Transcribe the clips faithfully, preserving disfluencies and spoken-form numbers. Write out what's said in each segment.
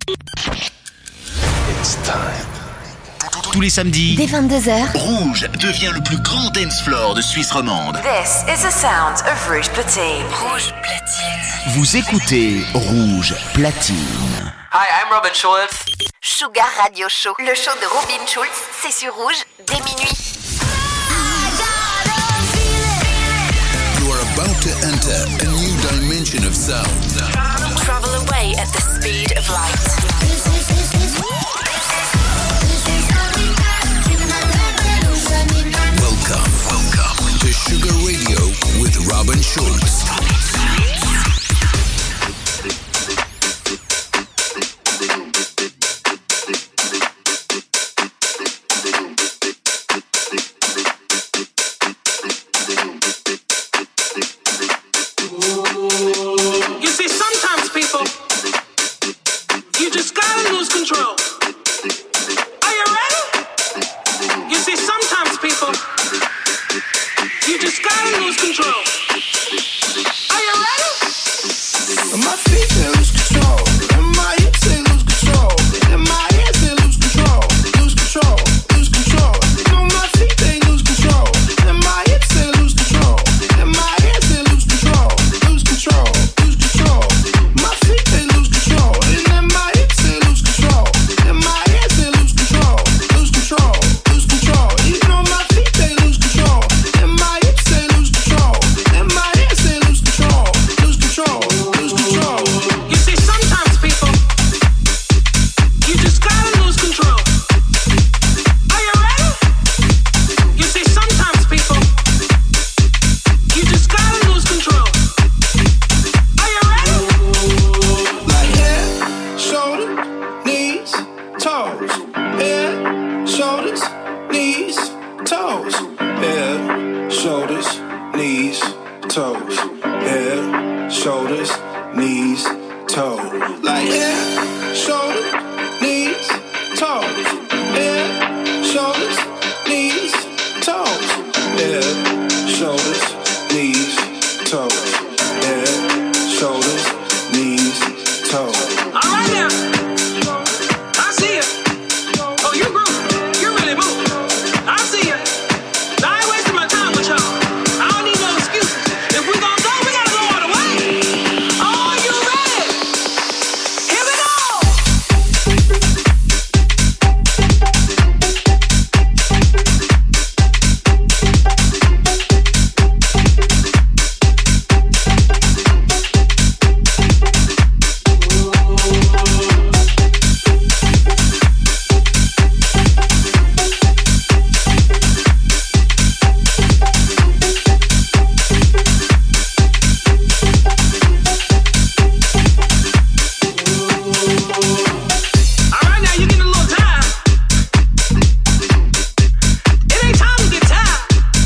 It's time. Tous les samedis, dès vingt-deux heures, Rouge devient le plus grand dance floor de Suisse romande. This is the sound of Rouge Platine. Rouge Platine. Vous écoutez Rouge Platine. Hi, I'm Robin Schulz. Sugar Radio Show, le show de Robin Schulz, c'est sur Rouge dès minuit. You are about to enter a new dimension of sound. Travel away at the speed of light. Welcome, welcome to Sugar Radio with Robin Schulz. You see, sometimes people, you just gotta lose control. Are you ready? You see, sometimes people, you just gotta lose control. Are you ready? My feet they lose control, and my hips they lose control, and my hands they lose control, lose control, lose control. No, my feet they lose control, and my hips they lose control, and my hands they lose control, lose control, lose control. My feet they lose control, and then my hips they lose control, and my hands they lose control, lose control, lose control. You know my feet they lose control, and my hips they lose control, and my hands they lose control, lose control, lose control. You see, sometimes people, you just gotta lose control. Are you ready? You see, sometimes people, you just gotta lose control. Are you ready? Like head, shoulder, knees, toes. Head, shoulders, knees, toes. Head, shoulders, knees, toes. Head, shoulders, knees, toes. Like head, shoulder, knees, toes. Head, shoulders, knees, toes. Head, shoulders, knees, toes. Head, shoulders, knees, toes. All right now. I see you. Oh, you groove. You really move. I see you. I ain't wasting my time with y'all. I don't need no excuses. If we gon' go, we gotta go all the way. Are you ready? Here we go. All right now, you getting a little tired. It ain't time to get tired.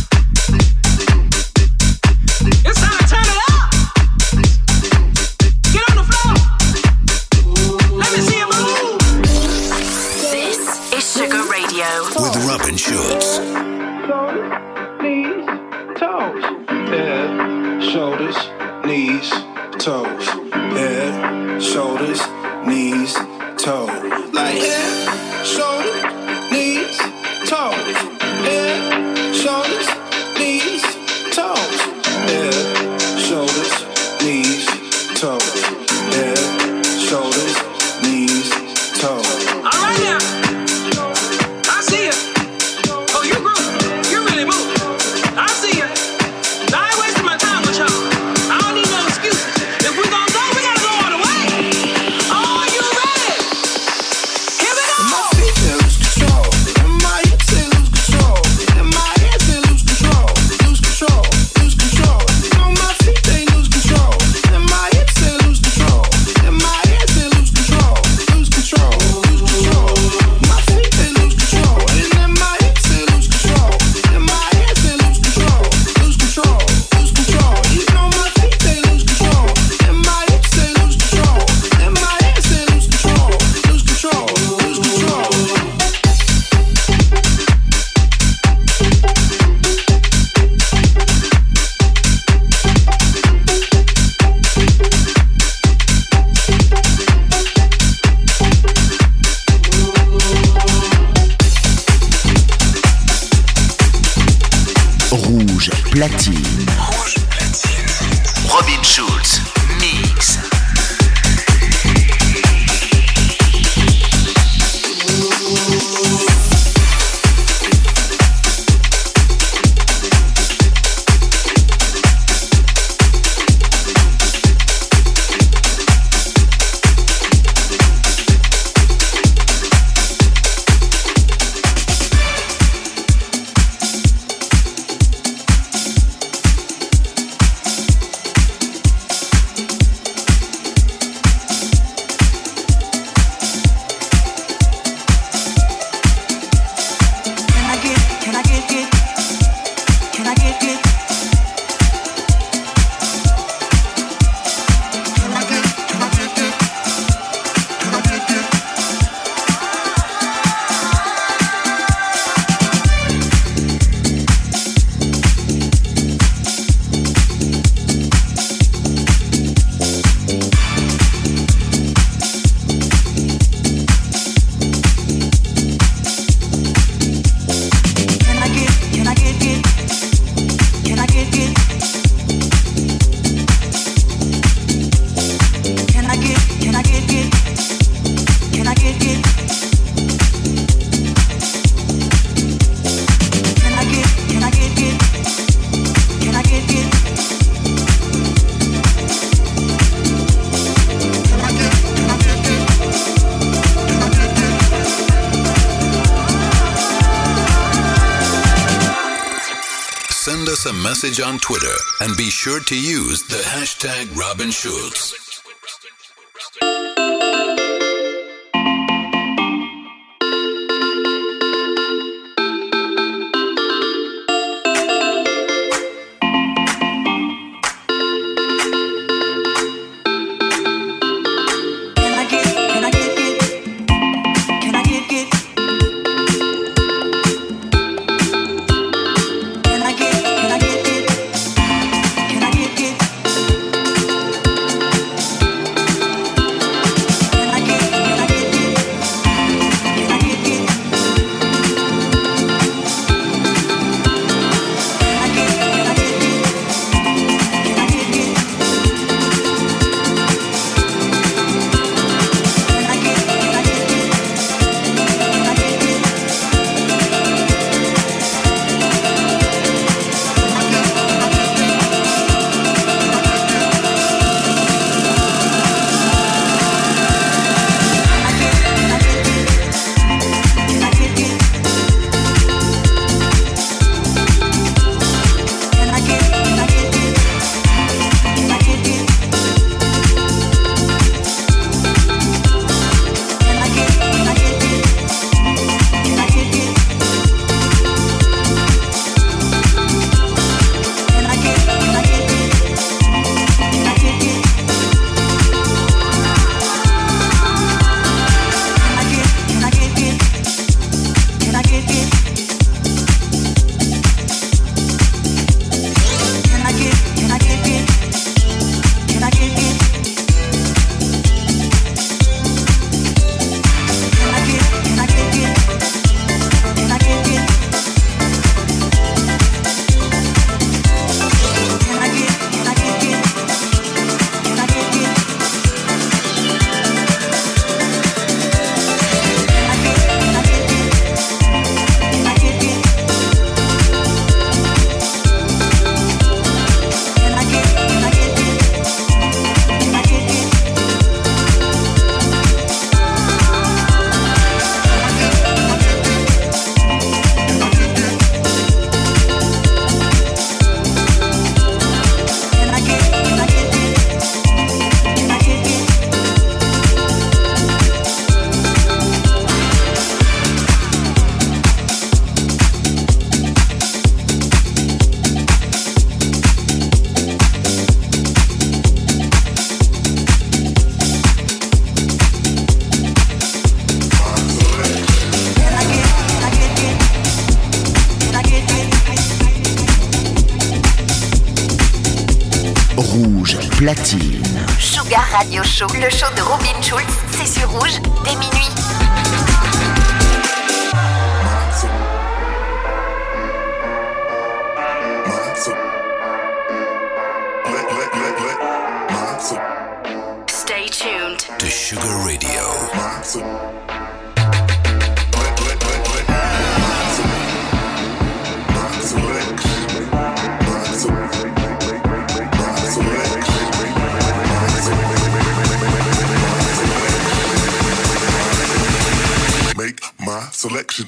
It's time to turn it up. Get on the floor. Let me see you move. This is Sugar Radio. With Robin Schulz. Shoulders, knees, toes. Head, shoulders, knees, toes. Head, shoulders, knees, toes. Like head, shoulders, knees, toes. Head, shoulders, knees, toes. Head, shoulders, knees, toes. Head, shoulders, knees, toes. All right now. I see you. Oh, you groove. You really move. I see you. I ain't wasting my time with y'all. I don't need no excuses. If we gon' go, we gotta go all the way. Are you ready? Here we go. My feet they lose Rouge platine. Rouge platine. Robin Schulz, mix. Send us a message on Twitter and be sure to use the hashtag Robin Schulz. Rouge platine. Sugar Radio Show, le show de Robin Schulz, c'est sur Rouge dès minuit. Enter Radio. Make my selection.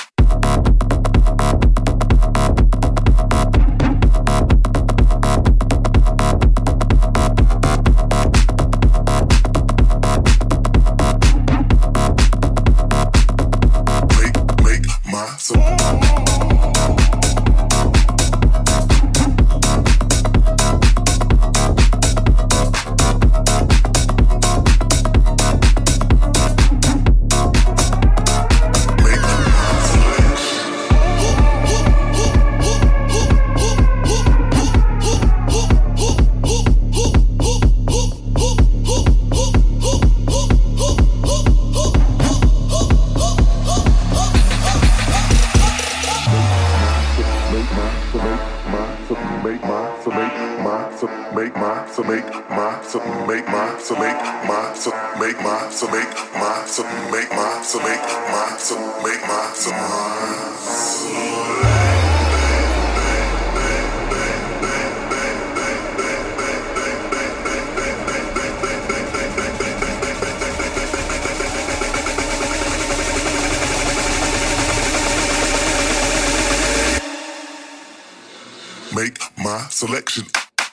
Make my selection.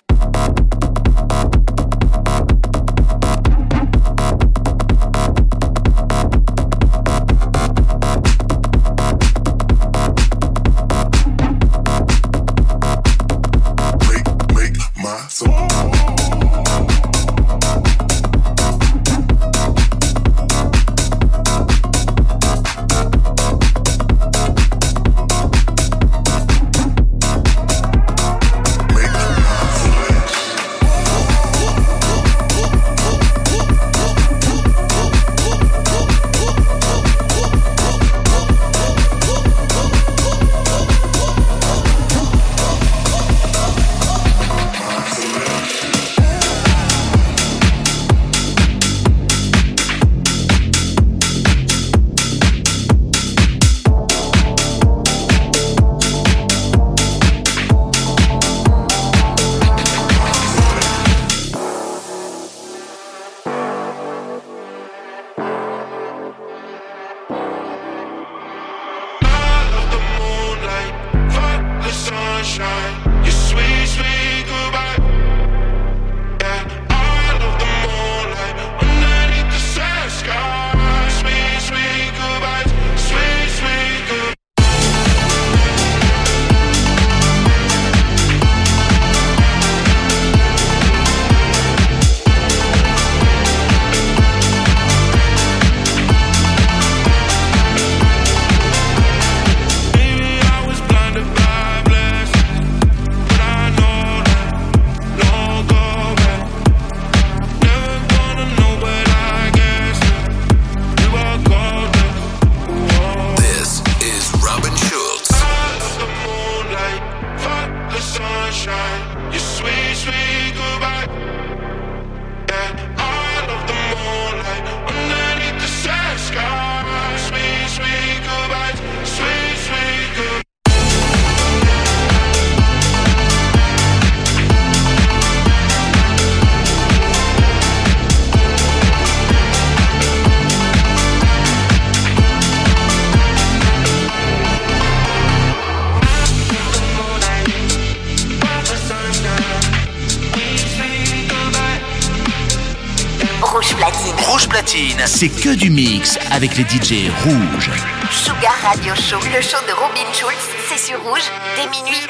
C'est que du mix avec les D J rouges. Sugar Radio Show, le show de Robin Schulz, c'est sur Rouge, dès minuit.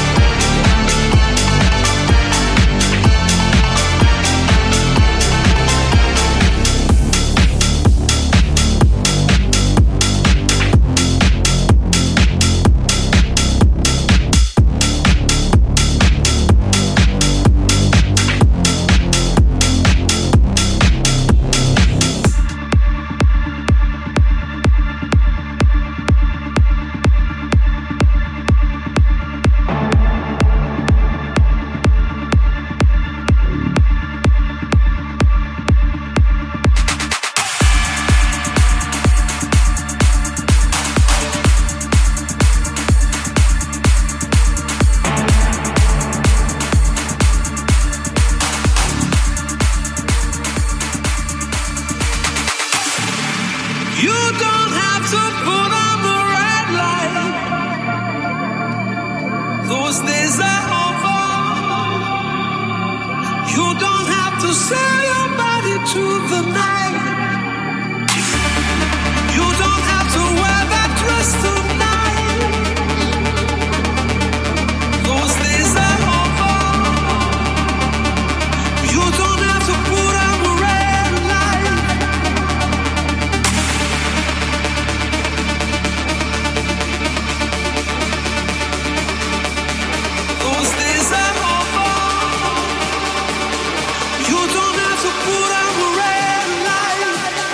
We'll be right back. Those days are over. You don't have to sell your body to the night. You don't have to wear that dress tonight. Those days are over. You don't have to put on a red light. Those days are over. You don't have to put on a red light.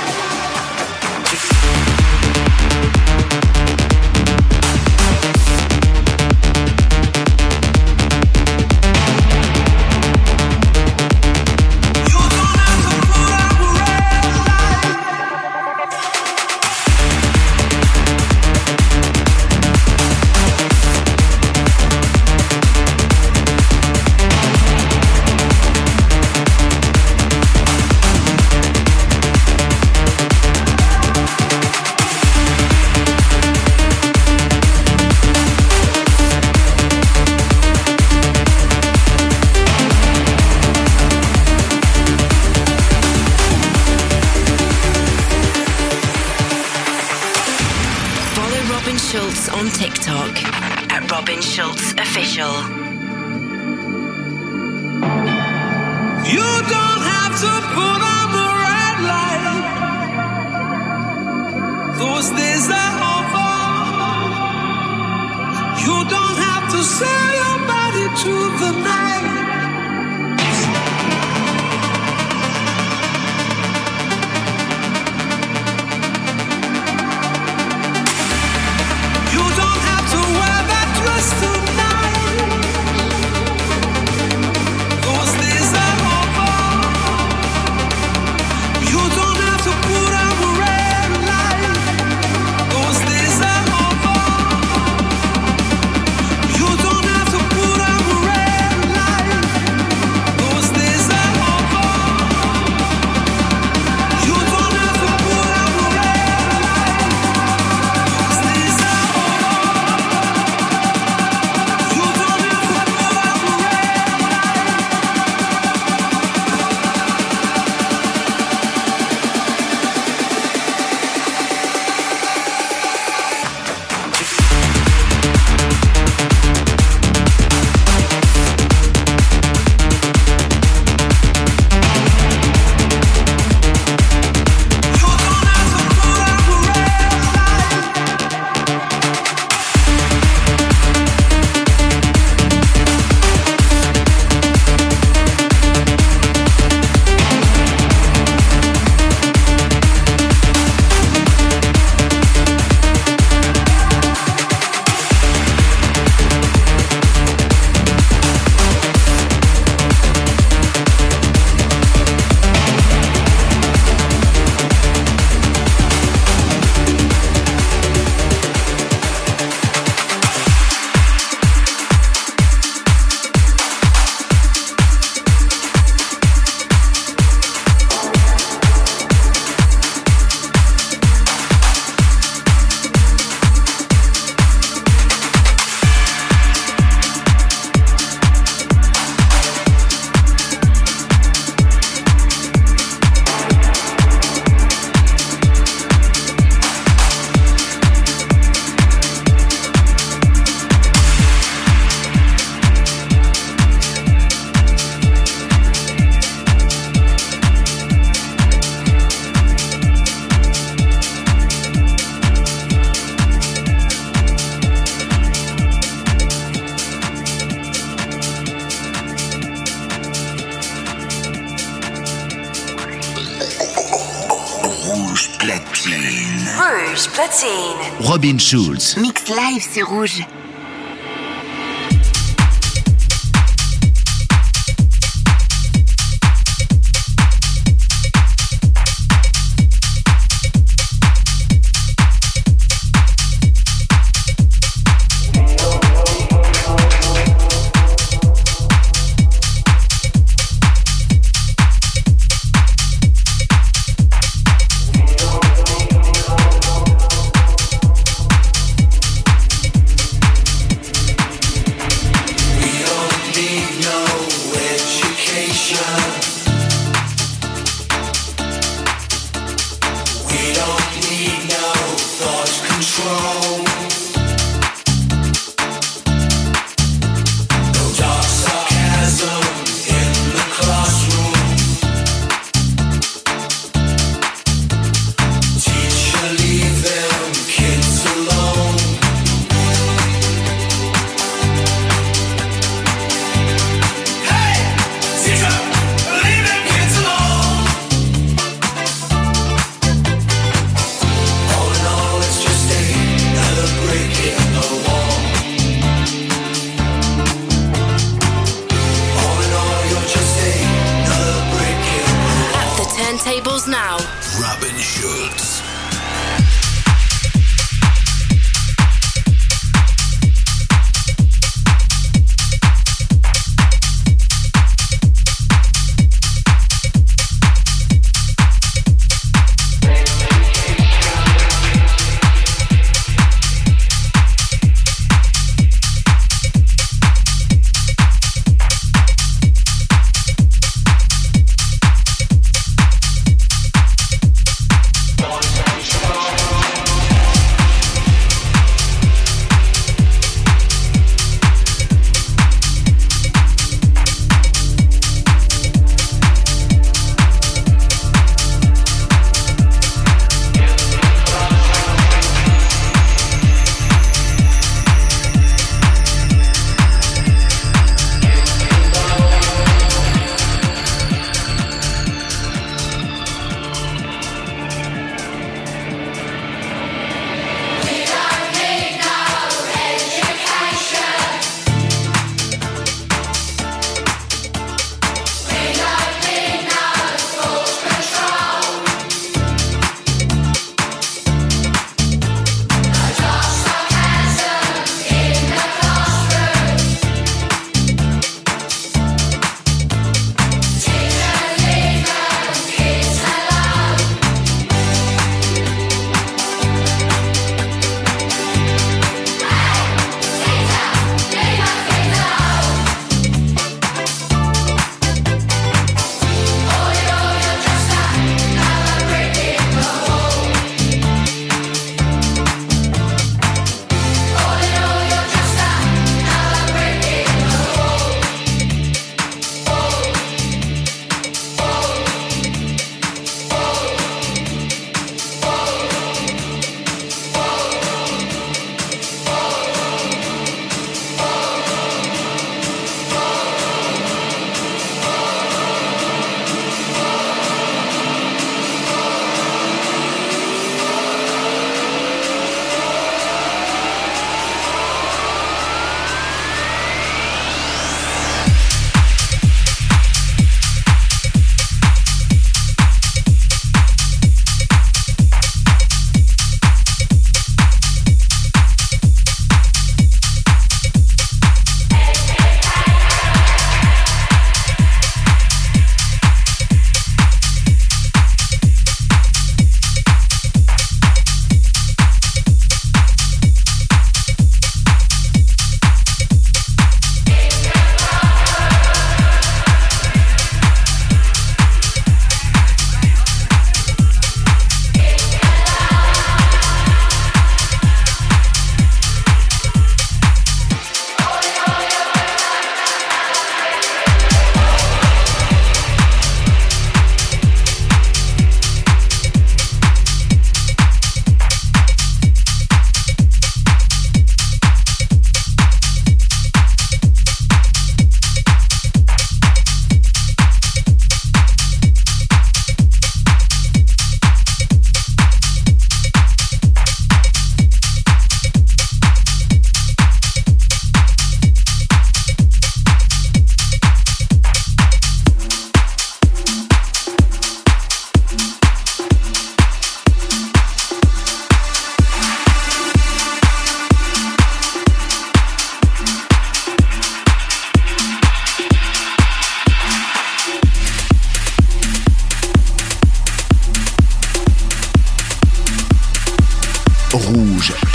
On TikTok at Robin Schulz Official. You don't have to put on the red light. Those days are over. You don't have to sell your body to the night. You don't have to wear that dress tonight. Those days are over. You don't have to put on a red light. Those days are over. You don't have to put on a red light. Those days are over. You don't have to put on a red light. Those days are over. You don't have to put on a red Rouge Platine. Robin Schulz. Mix live sur Rouge.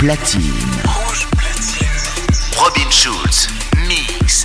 platine. Rouge platine. Robin Schulz, mix.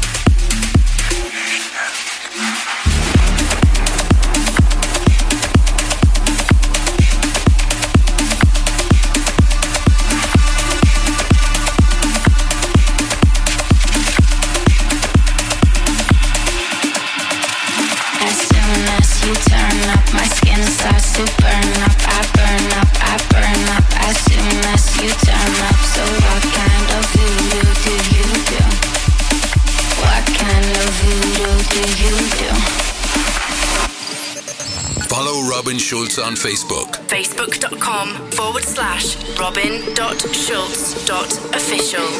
You turn up, my skin starts to burn up. I burn up, I burn up as soon as you turn up. So what kind of voodoo do you do? What kind of voodoo do you do? Follow Robin Schulz on Facebook. Facebook.com forward slash Robin.Schulz.official.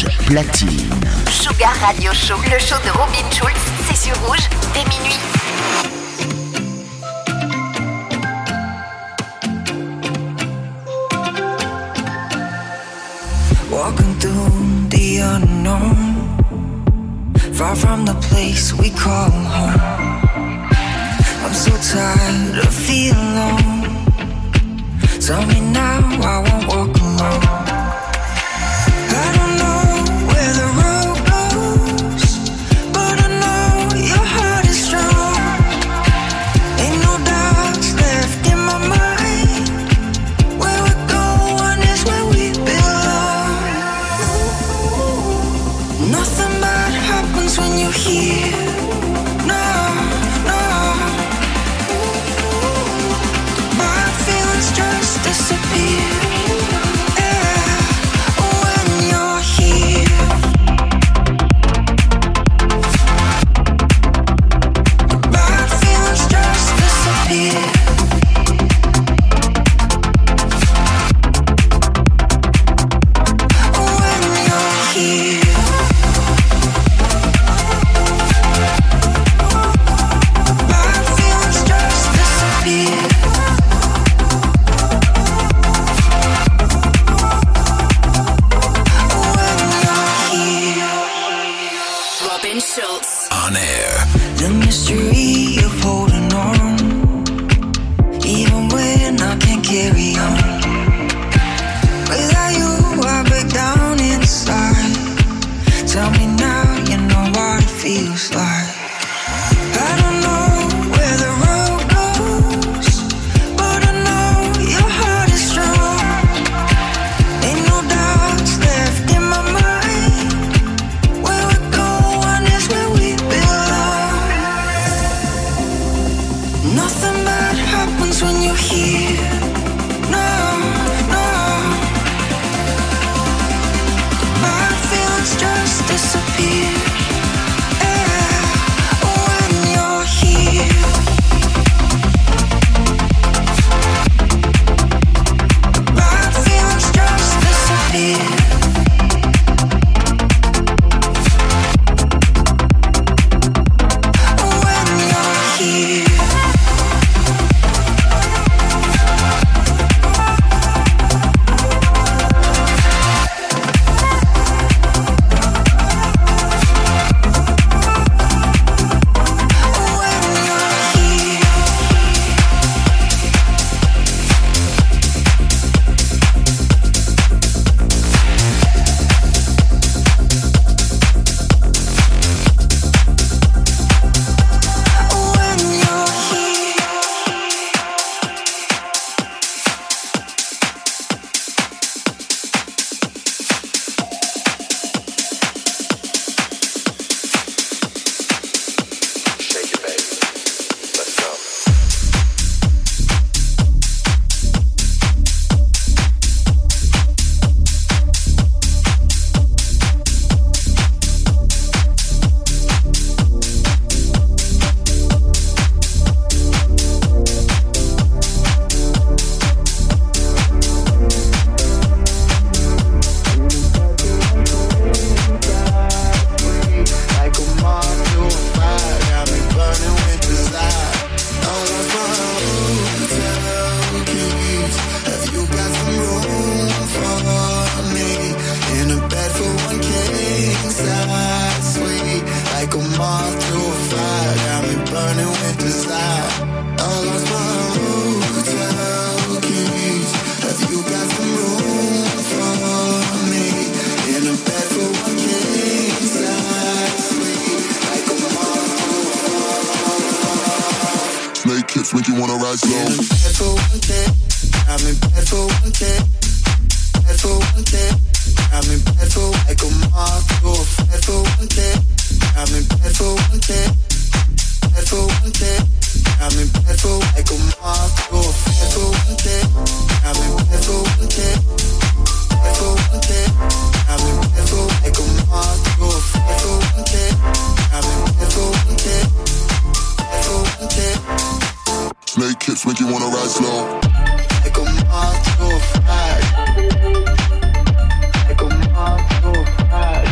Rouge platine. Sugar Radio Show, le show de Robin Schulz, c'est sur Rouge dès minuit. Walking through the unknown, far from the place we call home. I'm so tired of feeling alone. Tell me now I won't walk alone. I don't know where the road goes, but I know your heart is strong. Ain't no doubts left in my mind. Where we're going is where we belong. Nothing bad happens when you're here. No, no. Bad feelings just disappear. On air. The mystery of holding on, even when I can't carry on. Without you, I break down inside. Tell me now, you know what it feels like. I don't know where the road goes, but I know your heart is strong. Ain't no doubts left in my mind. Where we're going is where we belong. Nothing bad happens when you're here. No, no. Bad feelings just disappear. Make you wanna rise low. I'm bad for one day. I'm in bed for one day. Bad for one day. I'm in bed for like a moth. You're bad for one day. I'm in bed for one day. Bad for one day. I'm in bed for like a moth. You're bad for one day. I'm in bed for one day. Bad for one day. I'm in bed for like a moth. You're bad for one day. I'm in bed for one day. Bad for one day. Snake hips make you wanna rise slow. Like a moth to a fire. Like a moth to a fire.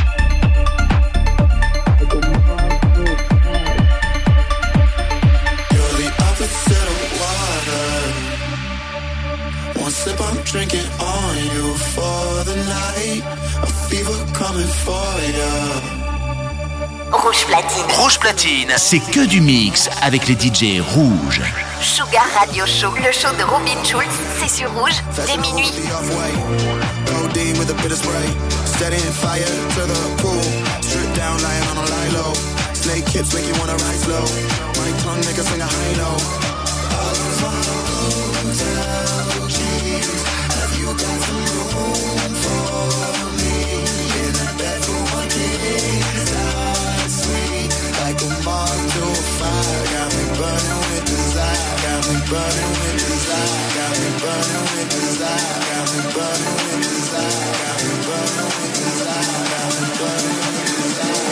sip, I'm drinking on you for the night. A fever coming for ya. Rouge Platine. Rouge Platine, c'est que du mix avec les D J Rouge. Sugar Radio Show, le show de Robin Schulz, c'est sur Rouge, dès minuit. Codeine with a bit of spray, setting fire to the pool. Strip down, lying on a lie low. Snake hips make you wanna ride slow. My tongue make a sing a high note. All of my hotel keys. Have you got some room for me? In a bed for one king. Sweet like a moth to a fire. Got me burning with desire. Got me burning with desire. Got me burning with desire. Got me burning with desire. Got me burning with desire. Got me burning with desire.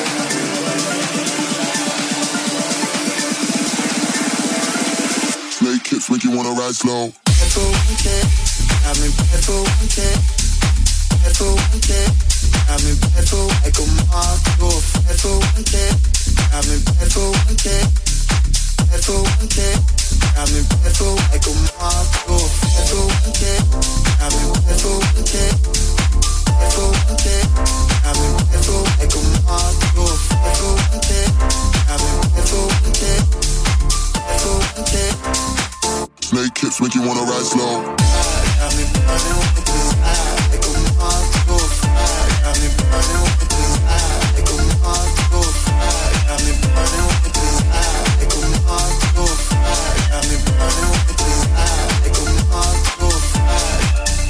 Snake hips make you wanna ride slow. Bad for one kick, got me bad for one kick. Bad for one kick, got me bad for like a moth to a bad for one kick. Got me bad for one kick. Bad for one kick, got me bad for like a moth to a bad for one kick. Got me bad for one kick. Bad for one kick, got me bad for like a moth to a bad for one kick. Got me bad for one kick. Bad for one kick. Snake hips make you wanna ride slow. Got me burning with desire, like a moth to a fire. Got me burning with desire, like a moth to a fire. Got me burning with desire, like a moth to a fire. Got me burning with desire, like a moth to a fire.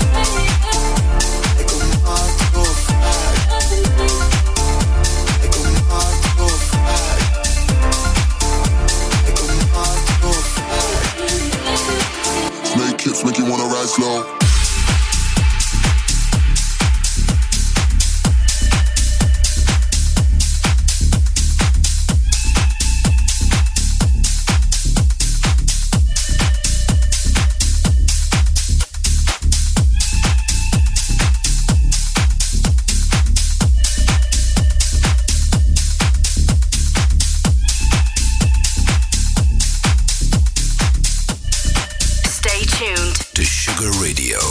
Like a moth to a fire. Like a moth to a fire. Like a moth to a fire. Snake hips make you wanna ride slow. Stay tuned to Sugar Radio.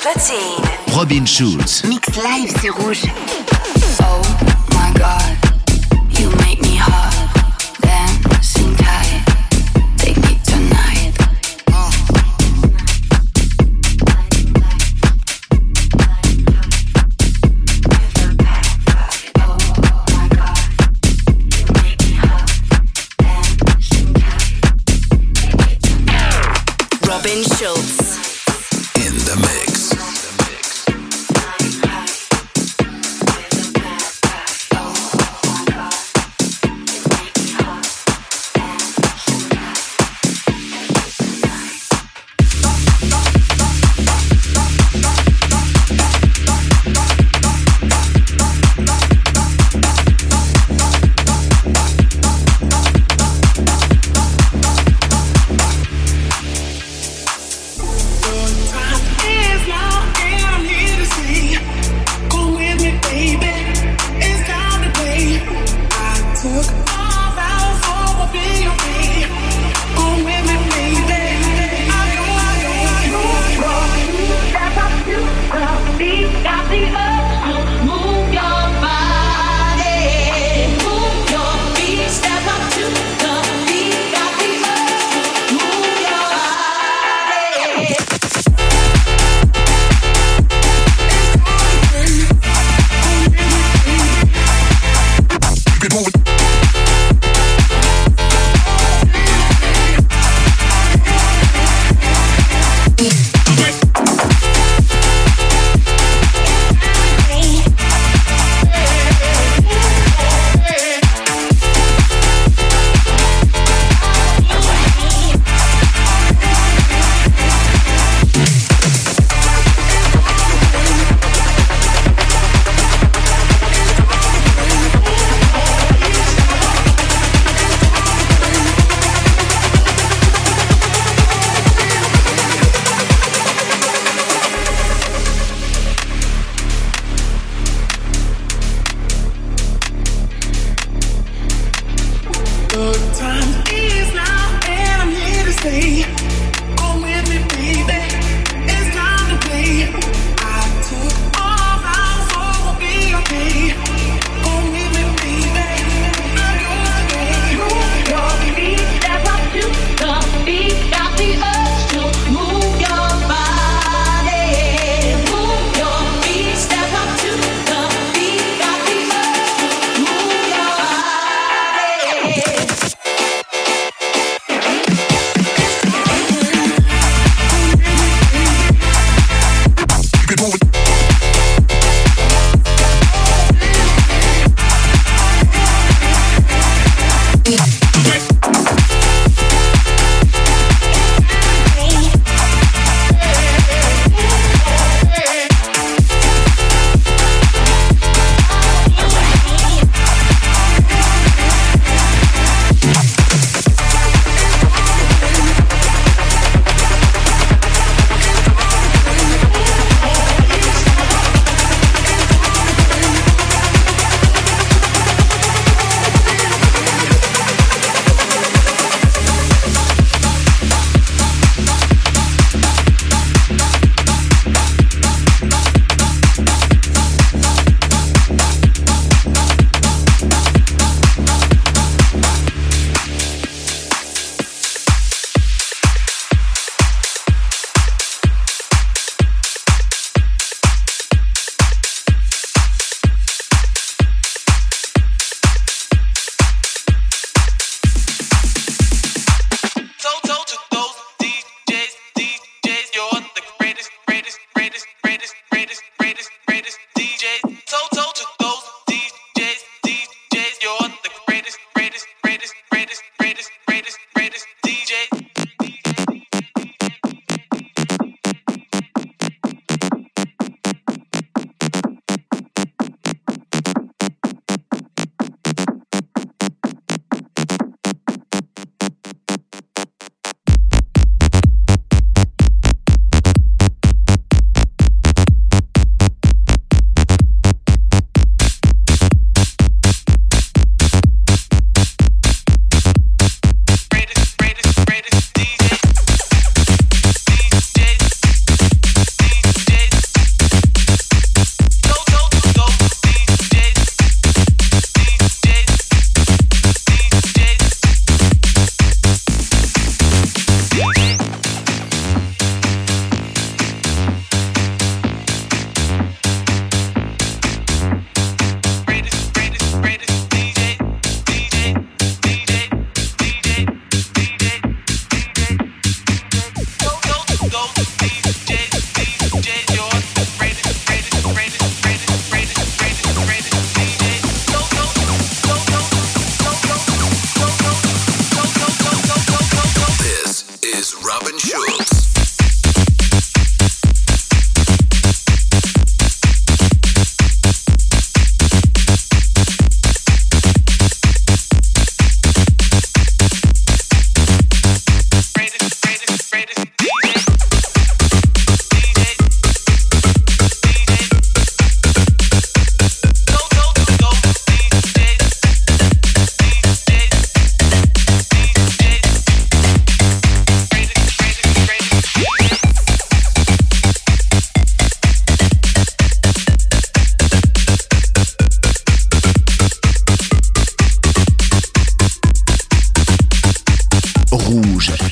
platine. Robin Schulz. Mix live sur Rouge. Oh my God, you make me hot. Dancing tight, take me tonight. Robin Schulz. In the mix.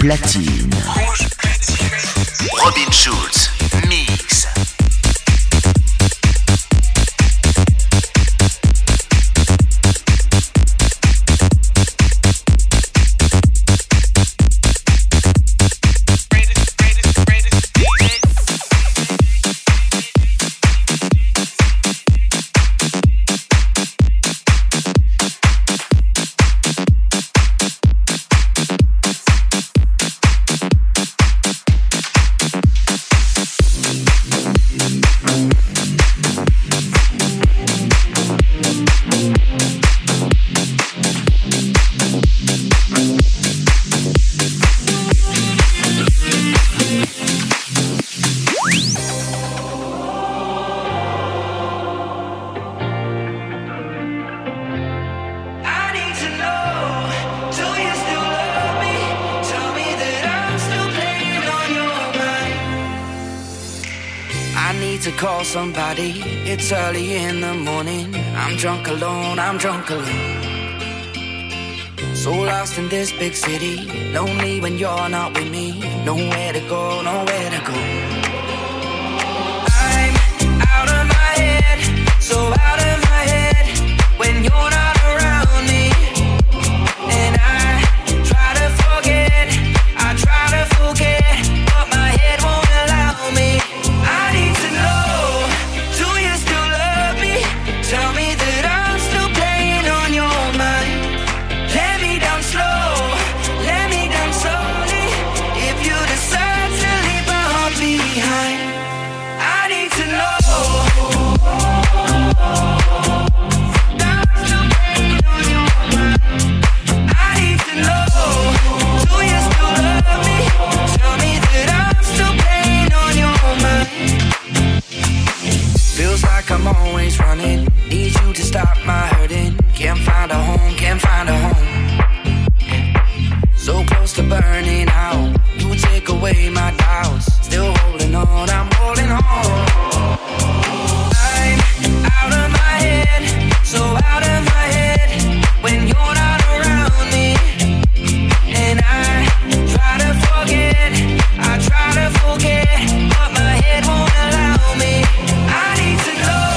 platine. Robin Schulz, mix. Somebody, it's early in the morning. I'm drunk alone, I'm drunk alone. So lost in this big city, lonely when you're not with me. Nowhere to go, nowhere to go. I'm out of my head, so out of my head when you're not around me. And I try to forget, I try to forget, but my head won't allow me. I need to know. Tell me that I'm still playing on your mind. Let me down slow, let me down slowly. If you decide to leave my heart behind, I need to know. I'm still playing on your mind. I need to know. Do you still love me? Tell me that I'm still playing on your mind. Feels like I'm always running. Need you to stop my hurting. Can't find a home, can't find a home. So close to burning out. You take away my doubts. Still holding on, I'm holding on. I'm out of my head, so out of my head when you're not around me. And I try to forget, I try to forget, but my head won't allow me. I need to know.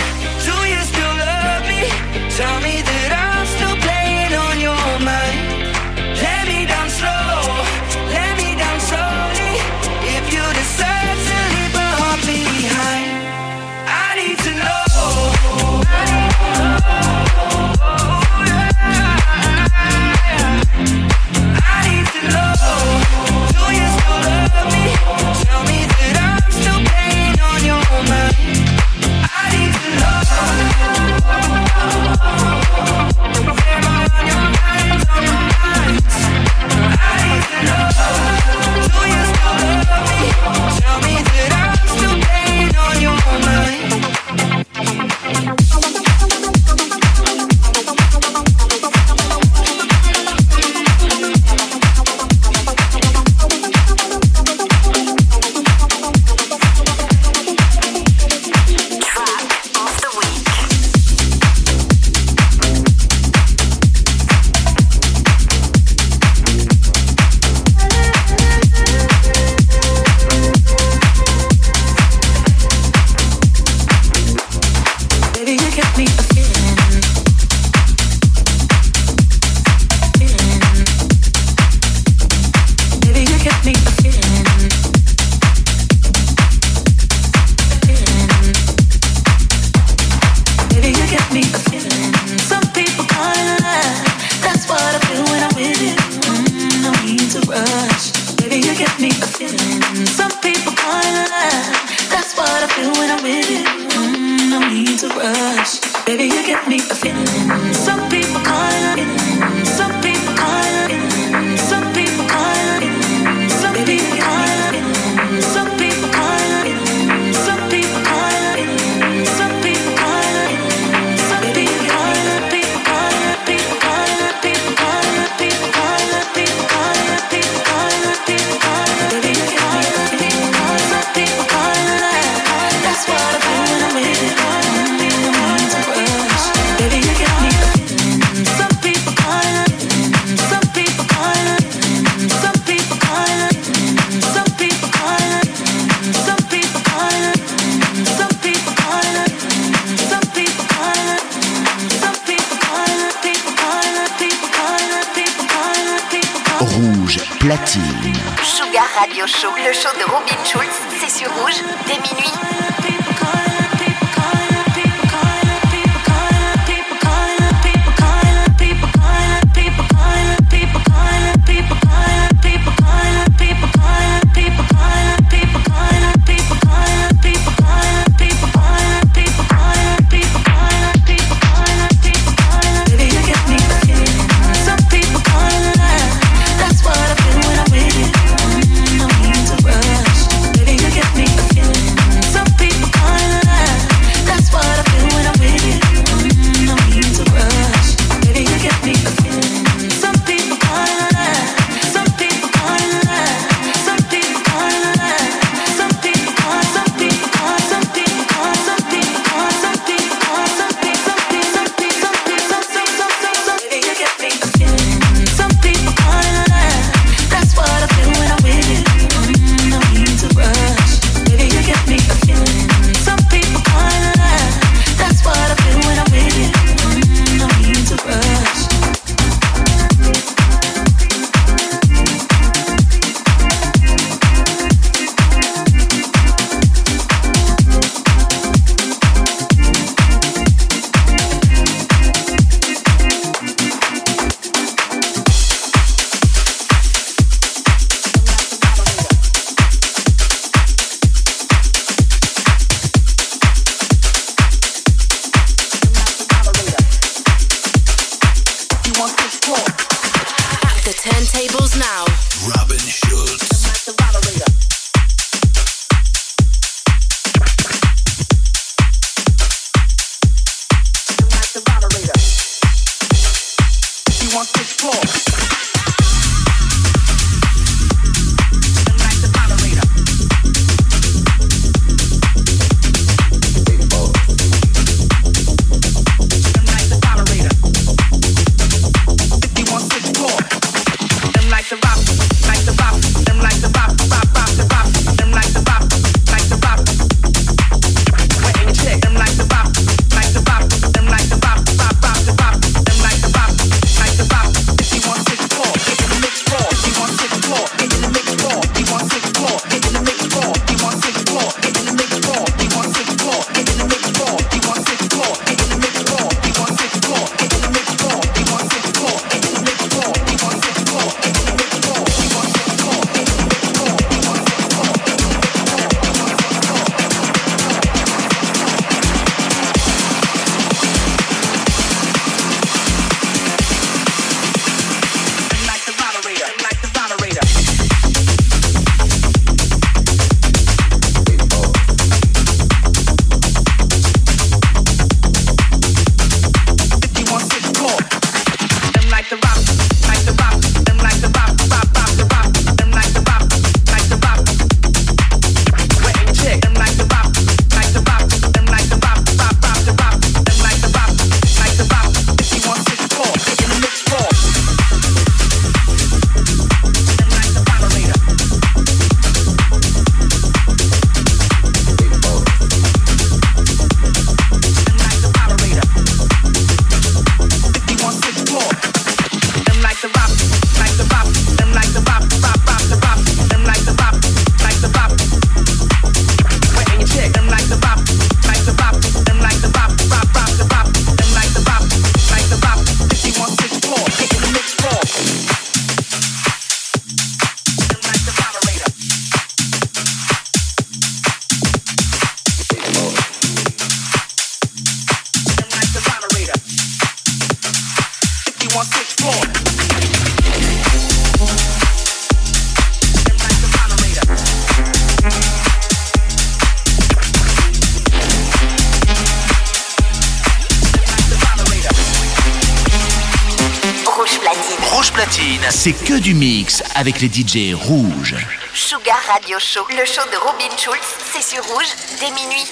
Tell me that I'm still playing on your mind. Let me down slow, let me down slowly. If you decide to leave my heart behind, I need to know. I need to know. I need to know. Do you still love me? Tell me that I'm still playing on your mind. I need to know. Tell me that I'm still playing on your mind. Baby, platine. Sugar Radio Show, le show de Robin Schulz, c'est sur Rouge, dès minuit. C'est que du mix avec les D J rouges. Sugar Radio Show, le show de Robin Schulz, c'est sur Rouge, dès minuit.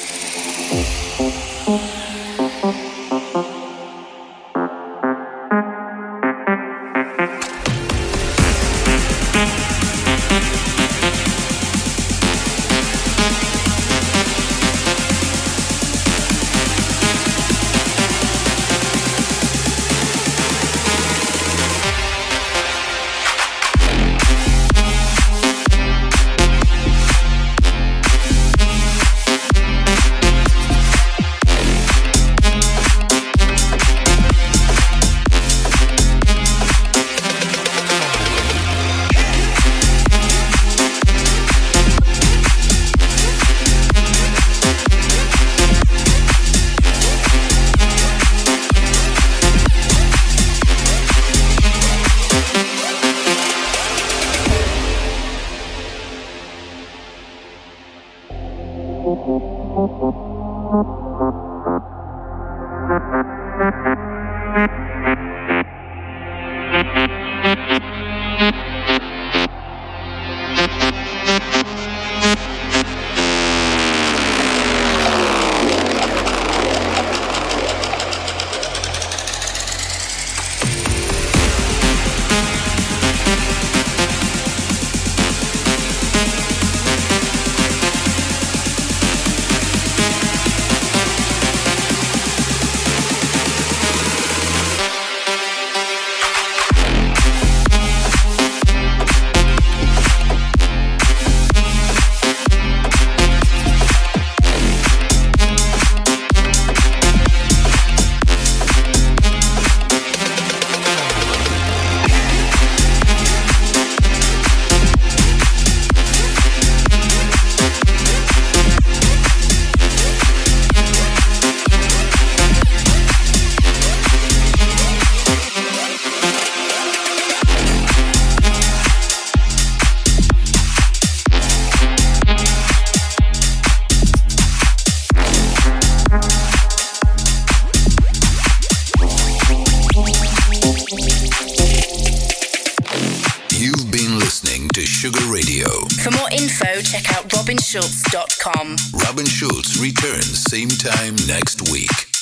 For more info, check out robin schulz dot com. Robin Schulz returns same time next week.